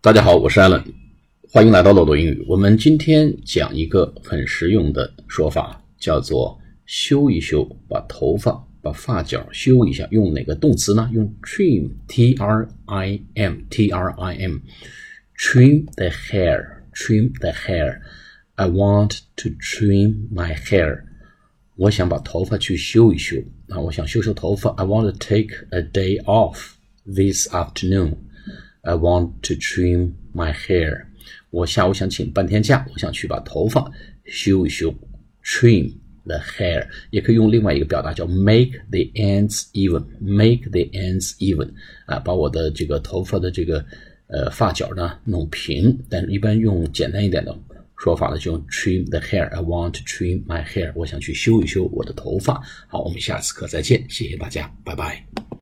大家好，我是 Alan， 欢迎来到漏斗英语。我们今天讲一个很实用的说法，叫做修一修，把头发、把发角修一下。用哪个动词呢？用 trim, T-R-I-M, T-R-I-M, trim the hair, trim the hair. I want to trim my hair. 我想把头发去修一修。我想修修头发。I want to take a day off this afternoon.I want to trim my hair. 我下午想请半天假，我想去把头发修一修。Trim the hair 也可以用另外一个表达叫 make the ends even. Make the ends even. 把我的这个头发的这个发角呢弄平，但是一般用简单一点的说法呢就用 trim the hair. I want to trim my hair. 我想去修一修我的头发。好，我们下次课再见，谢谢大家，拜拜。